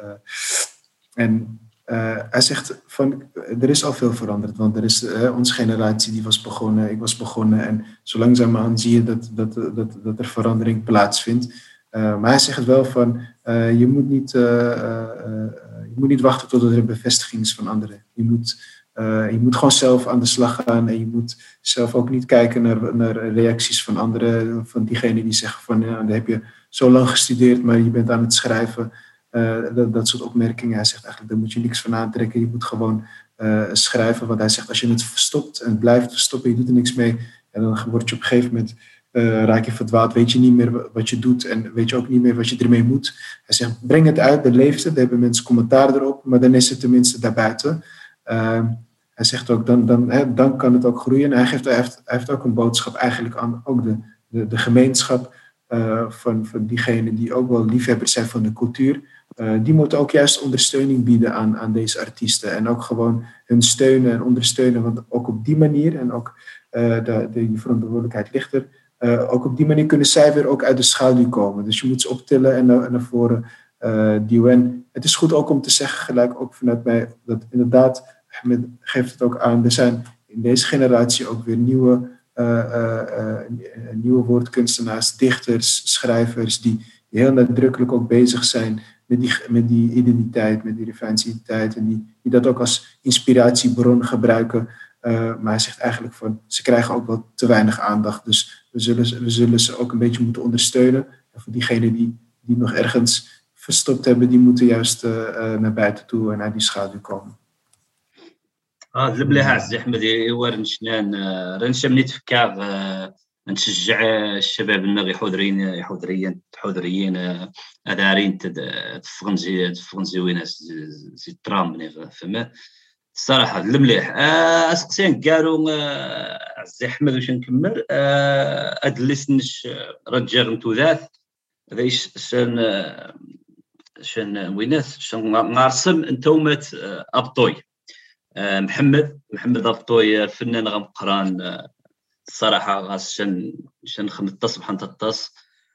en uh, hij zegt van, er is al veel veranderd, want er is uh, onze generatie die was begonnen, ik was begonnen en zo langzaamaan zie je dat, dat, dat, dat er verandering plaatsvindt. Uh, maar hij zegt wel van, uh, je, moet niet, uh, uh, uh, je moet niet wachten tot er een bevestiging is van anderen. Je moet, uh, je moet gewoon zelf aan de slag gaan en je moet zelf ook niet kijken naar, naar reacties van anderen, van diegenen die zeggen van, ja, dan heb je zo lang gestudeerd, maar je bent aan het schrijven. Uh, dat, dat soort opmerkingen. Hij zegt eigenlijk, daar moet je niks van aantrekken. Je moet gewoon uh, schrijven. Want hij zegt, als je het verstopt en het blijft verstoppen, je doet er niks mee. En dan word je op een gegeven moment, uh, raak je verdwaald. Weet je niet meer wat je doet en weet je ook niet meer wat je ermee moet. Hij zegt, breng het uit, dan leeft het. Dan hebben mensen commentaar erop, maar dan is het tenminste daarbuiten. Uh, hij zegt ook, dan, dan, hè, dan kan het ook groeien. Hij, geeft, hij, heeft, hij heeft ook een boodschap eigenlijk aan ook de, de, de gemeenschap uh, van, van diegenen die ook wel liefhebbers zijn van de cultuur. Uh, die moeten ook juist ondersteuning bieden aan, aan deze artiesten. En ook gewoon hun steunen en ondersteunen. Want ook op die manier, en ook uh, de, de verantwoordelijkheid ligt er, uh, ook op die manier kunnen zij weer ook uit de schaduw komen. Dus je moet ze optillen en, en naar voren uh, duwen. Het is goed ook om te zeggen, gelijk ook vanuit mij, dat inderdaad, Ahmed geeft het ook aan, er zijn in deze generatie ook weer nieuwe, uh, uh, uh, nieuwe woordkunstenaars, dichters, schrijvers, die heel nadrukkelijk ook bezig zijn met die, met die identiteit, met die Rivijnsidentiteit en die, die dat ook als inspiratiebron gebruiken. Uh, maar hij zegt eigenlijk van, ze krijgen ook wel te weinig aandacht. Dus we zullen, we zullen ze ook een beetje moeten ondersteunen. En voor diegenen die, die nog ergens verstopt hebben, die moeten juist uh, uh, naar buiten toe en naar die schaduw komen. اه المليح عزيز احمد ايوا رنشنان رنشا مني تفكر نشجع الشباب النغي حضرين يحضريين حضريين ادارين تفغنزي تفغنزيوين زي الترام فما الصراحه المليح اسقسين قالوا عزيز احمد واش نكمل ادلسنش رجال نتوذاث هذا شان شان وينات شان نرسم انتومه ابطوي محمد محمد ابطوي فنان غمقران الصراحه غاس شن شن خمطس بحال تطس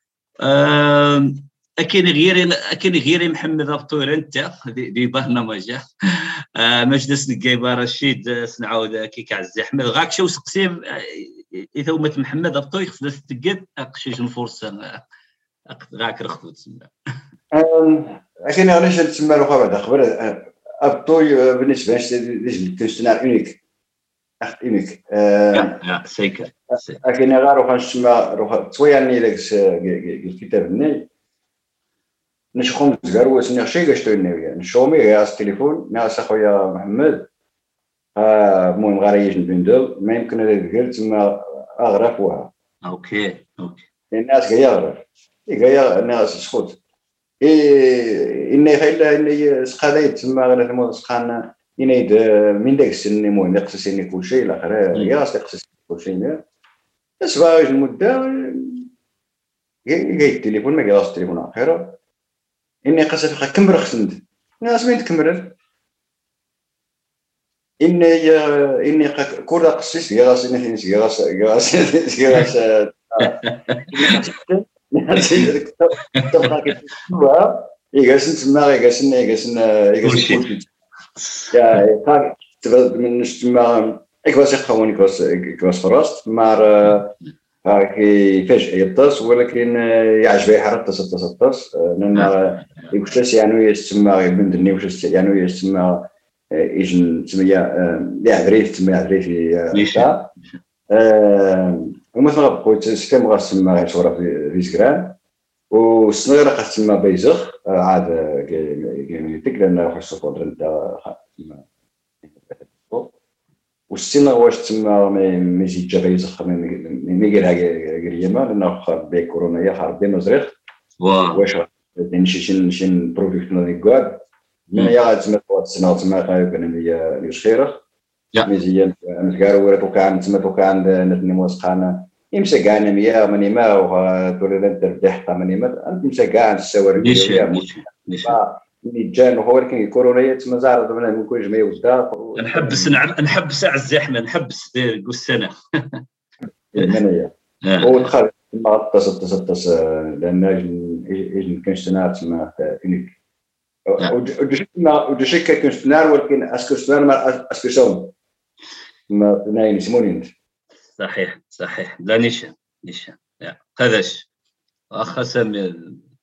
اكين غيري اكين غيري محمد ابطوي انت دي برنامج مجلس القيبه رشيد سنعاود كيك عزيز احمد غاك شو سقسيم اذا ومت محمد ابطوي خصنا تقد اقشيش الفرصه غاك رخدو تسمى اكين علاش تسمى له بعد خبر ابطوي بالنسبه لي كنستنار اونيك echt uniek. Ja, ja, zeker. Als je naar gaat, gaan we twee jaar geleden gekeken nee. نش خمس جروس نشيء قشتوني نشومي يا التليفون ناس أخويا محمد آه مهم غاريش نبندل ما يمكن هذا قلت ما أغرق وها. أوكي أوكي. الناس جاي أغرق. جاي الناس سخوت. إيه إني خيله إني سخاليت ما غلط ما سخان ينيد من داك السن المهم يقصصني كل شيء الآخر ياس يقصصني كل شيء بس باش المدة جاي التليفون ما جاش التليفون آخره إني قصة كم رخصند ناس مين تكمل إني إني كورة قصص ياس إني ياس ياس ياس ياس ناس تبغى كتبوا يجلس نسمع يجلس يجلس يجلس Ja, ik ga من ik was echt gewoon ik was ik was verrast maar هاكي فجأة يطس ولكن يعجبني حركة تص تص لأن يوشس يعني يسمى بند النيوشس يعني يسمى إيجن تسمى يا عريف تسمى عريف يا ومثلا قلت سكام غاس تسمى شورا في سكران والصغيرة قد تسمى بيزخ عاد كيميتك لأن خصو قدر نتا والسن واش تما ما يزيد جا يسخر ما يديرها قريمه لانه بي كورونا يا خربي مزريق واش يعني شي شي برودكت نيكواد من يا تما السنه تما كان هي الخيره مزيان مزكارو ورا توكان تما توكان نتني موسخانه يمسى كاع مية ماني ما ولا انت ردح ماني ما انت يمسى كاع السواري جان هو ولكن كورونا تما زعر ضمن من كل جمعيه وزدا نحبس نحبس على الزحمه نحبس دير السنه المنيه ودخل ما تصل تصل تصل لان اجن كنشتنار تما فينيك ودشك كنشتنار ولكن اسكو شتنار ما اسكو شون ما ناين سمونين صحيح صحيح لا نيشان نيشان هذاش اخ سامي.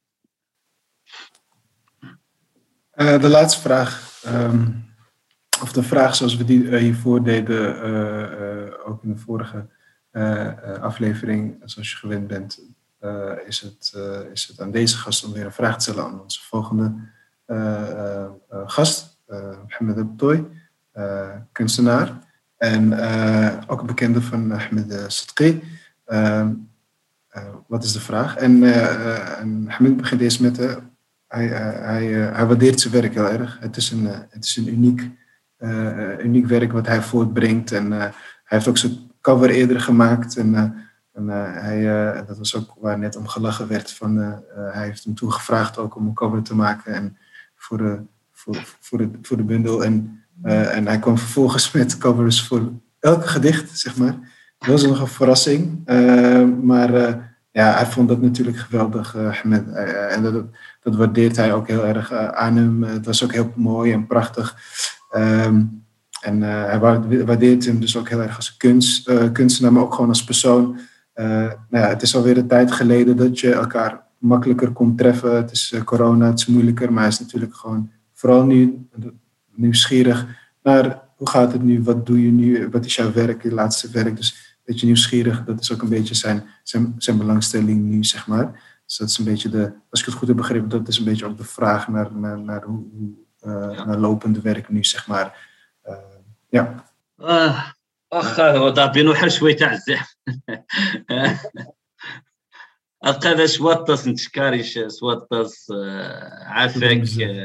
Uh, de laatste vraag, um, of de vraag zoals we die uh, hiervoor deden, uh, uh, ook in de vorige uh, uh, aflevering, zoals je gewend bent, uh, is, het, uh, is het aan deze gast om weer een vraag te stellen aan onze volgende uh, uh, uh, gast, uh, Mohamed Abtoy, uh, kunstenaar en uh, ook een bekende van Ahmed Sadqi. Uh, uh, wat is de vraag? En, uh, uh, en Mohamed begint eerst met de. Hij, hij, hij waardeert zijn werk heel erg. Het is een, het is een uniek, uh, uniek werk wat hij voortbrengt. En uh, hij heeft ook zijn cover eerder gemaakt. En, uh, en uh, hij, uh, dat was ook waar net om gelachen werd. Van, uh, uh, hij heeft hem toen gevraagd ook om een cover te maken. En voor, de, voor, voor, de, voor de bundel. En, uh, en hij kwam vervolgens met covers voor elk gedicht, zeg maar. Dat was nog een verrassing. Uh, maar uh, ja, hij vond dat natuurlijk geweldig. Uh, met, uh, en dat, Dat waardeert hij ook heel erg uh, aan hem. Het was ook heel mooi en prachtig. Um, en uh, hij waardeert hem dus ook heel erg als kunst, uh, kunstenaar, maar ook gewoon als persoon. Uh, nou ja, het is alweer een tijd geleden dat je elkaar makkelijker kon treffen. Het is uh, corona, het is moeilijker, maar hij is natuurlijk gewoon vooral nu nieuwsgierig naar hoe gaat het nu, wat doe je nu, wat is jouw werk, je laatste werk. Dus een beetje nieuwsgierig, dat is ook een beetje zijn, zijn, zijn belangstelling nu, zeg maar. Dus dat is een beetje de, als ik het goed heb begrepen, dat is een beetje ook de vraag naar, naar, naar hoe, uh, ja. naar lopende werk nu, zeg maar. Uh, ja. آه أخ وضع بينو حر شوي تاع الزحف ألقى شوطس نتشكاريش شوطس عافاك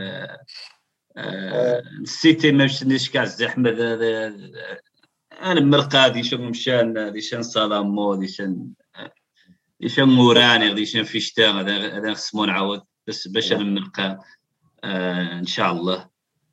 نسيتي ما مشينيش كاع الزحمة أنا مرقا دي شنو مشان دي شان صالامو دي شان دي شان موراني دي شان فيشتا هذا خصمو نعاود بس باش أنا نلقى إن شاء الله.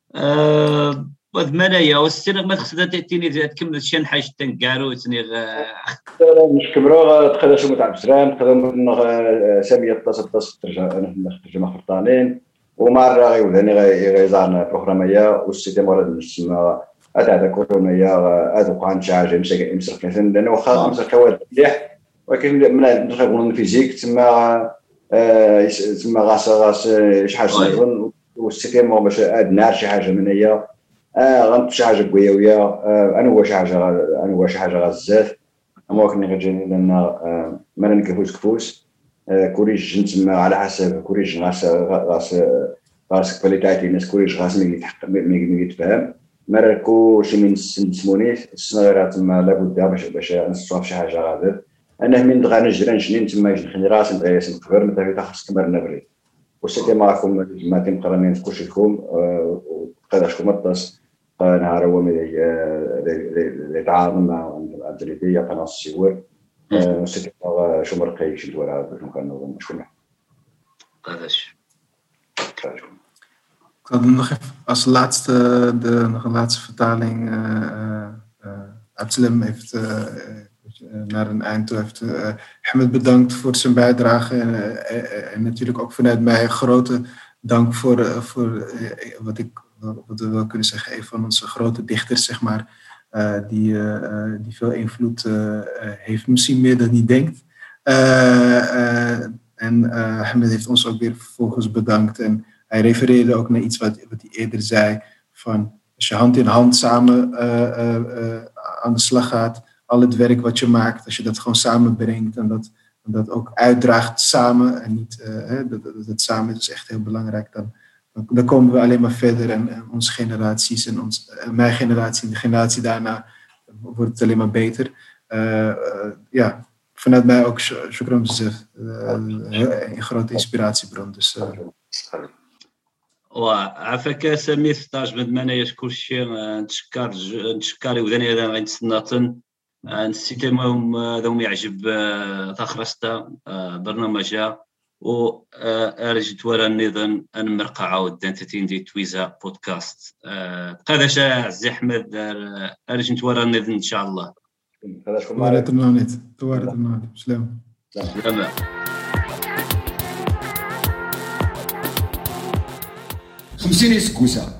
وذمنايا والسنة ما تخصها تأتيني تكمل شان حاجة تنقارو تني مش كبروا تخلى شو متعب سلام تخلى سامية تصل تصل ترجع ترجمة خرطانين ومرة غيولاني غيزارنا بروغرامية والسيتي مرة نسمى هذا هذا كورونيا هذا قان شي حاجة مسك مسك لأنه واخا مسك كواد مليح ولكن من ندخل نقولوا فيزيك تما تما غاس غاس شي حاجة نظن والسيتي ما باش نار شي حاجة من هي اه غنت شي حاجه قويه آه انا هو شي حاجه انا هو شي حاجه غزاف اما كني غتجيني لان آه ما نكفوش كفوس آه كوريج نتما على حسب كوريج غاس غاس غاس كواليتي الناس كوريج غاس ملي يتحقق ملي يتفهم مركو شي من نسموني الصغيره تما لابد باش باش نصوف شي حاجه غادر انا من غا نجري نجني تما نخلي راسي نبغي نكبر متى خاص كبر نبري وسيتي معكم ما تنقرني كلشي لكم قداشكم الطاس نهار هو اللي يتعاون مع الجريدية قناة السيور سيتي شو مرقي شي دوار باش نكونوا شكون قداش. Ik had nog even als laatste, de, nog een laatste vertaling. Uh, uh, uh, Abdeslam heeft uh, naar een eind toe heeft uh, Ahmed bedankt voor zijn bijdrage en, uh, en natuurlijk ook vanuit mij een grote dank voor, uh, voor uh, wat ik wat we wel kunnen zeggen, een van onze grote dichters, zeg maar, uh, die, uh, die veel invloed uh, heeft, misschien meer dan hij denkt. Uh, uh, en uh, Ahmed heeft ons ook weer vervolgens bedankt. En hij refereerde ook naar iets wat, wat hij eerder zei, van als je hand in hand samen uh, uh, uh, aan de slag gaat, al het werk wat je maakt, als je dat gewoon samenbrengt en dat, en dat ook uitdraagt samen, en niet uh, hè, dat, dat het samen is echt heel belangrijk, dan Dan komen we alleen maar verder en, en onze generaties en ons, mijn generatie en de generatie daarna wordt het alleen maar beter. Uh, uh, ja, vanuit mij ook shukran bezef. Uh, een grote inspiratiebron. Dus, uh. وعافاك سمير ستاج من منايا كلشي نتشكر نتشكر وداني هذا غنتسناطن نسيتهم ذوم يعجب تخرجت برنامجها و ارجت ورا النظام ان مرقع عاود دانتين دي تويزا بودكاست قاداش عزي احمد ارجت ورا النظام ان شاء الله توارت النونيت توارت النونيت سلام سلام خمسين سكوسة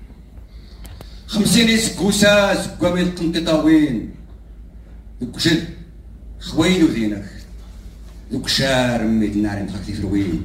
خمسين سكوسة زكوامي القنططاوين دوك جد خوين ودينك دوك شار ميد النار مخاكتي في الوين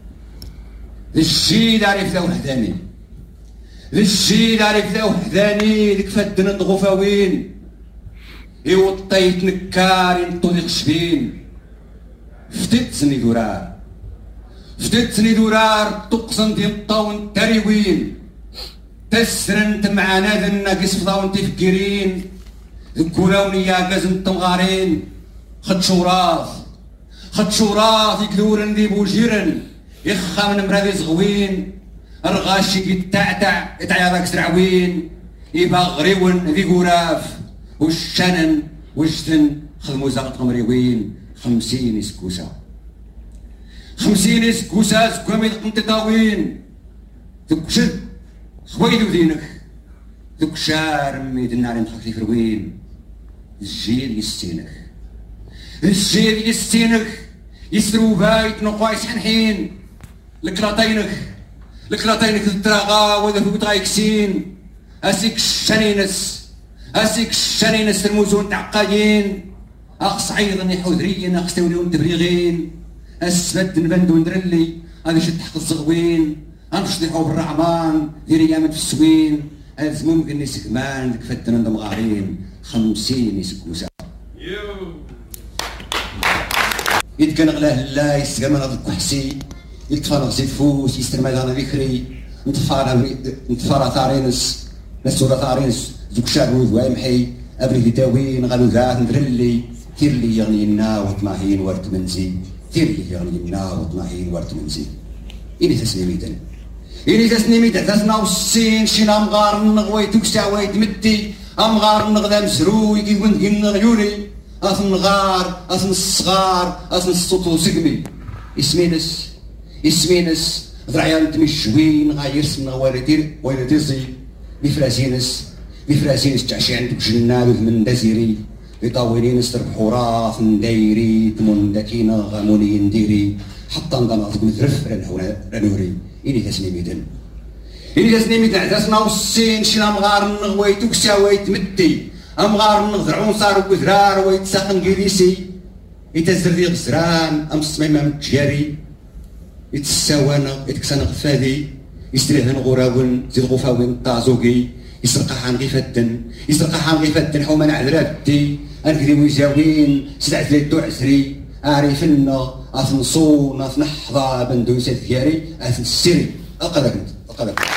الجيل عارف ذا وحداني الجيل عارف ذا وحداني ديك فدنا الغفاوين إيوا طيت نكار ينطوني خشبين فتت سني دورار فتت سني دورار تقصن ديال الطاون تاريوين تسرنت معانا ذا الناقص فضاون تفكيرين ذكولاوني يا كازم تمغارين خد شوراث خد شوراث يكذورن ذي بوجيرن يخا من مرادي زغوين الغاشي يتعتع يتعيا ذاك سرعوين يبا غريون ذي قراف والشنن وجدن خدمو زاقت قمريوين خمسين سكوسة خمسين سكوسة سكوامي القنططاوين ذوك شد خويدو دينك ذوك شار ميد النار مخاكتي في الوين الجيل يستينك الجيل يستينك يسرو بايت نقوايس حنحين لكلاطينك لكلاطينك الدراغا وذا فوت غايكسين اسيك الشنينس اسيك الشنينس الموزون تعقايين اخ صعيدا يحوذريين اخ ستوليون تبريغين اسبد نبندو ندرلي هذا شد تحت الزغوين غنمشي نحو بالرعمان ديري يامن في السوين هذا ممكن نسكمان ديك فدنا دمغارين خمسين سكوسة يتكن غلاه لا يستقر من هذا الكحسي يتفرغ زيت فوس يسترمى دانا بكري نتفارا نتفارا ثارينس نسورا ثارينس زوك شابوذ وايمحي ابري داوين غالو ذات ندرلي تير لي يغنينا وطماهين ورد منزي تير لي يغنينا وطماهين ورد منزي إني تسنيميدا إني تسنيميدا تسنا والسين شينا مغار نغوي توكسا ويت مدي أمغار نغدا مسروي كي كنت كنا غيوني أثن غار أثن الصغار أثن السطو سقمي اسمينس اسمينس ذرعيان تمشوين غاير سمنا ويلتير ويلتيزي بفراسينس بفراسينس تعشي عندك جناب من دزيري يطاولين استربحوا راث نديري تمون داكينا غاموني نديري حتى نضمط مثرف رنوري إني تسنيميدن إني تسنيميدن عتاسنا والسين شنا مغار نغوي توكسا ويت مدي أمغار نغذرعون صاروا بذرار ويت ساقن قيليسي يتزر ذي غزران أم السميمة متجاري يتساوانا يتكسان غفادي يستريهن غراون زيد غفاوين طازوكي يسرقا حان غيفدن يسرقا حان غيفدن حوما نعذرابتي أنكذي ويزاوين سدعت لي الدو عسري أعرفنا أثن صون أثن حظا بندوسة ثياري أثن السري ألقى ذاك ألقى ذاك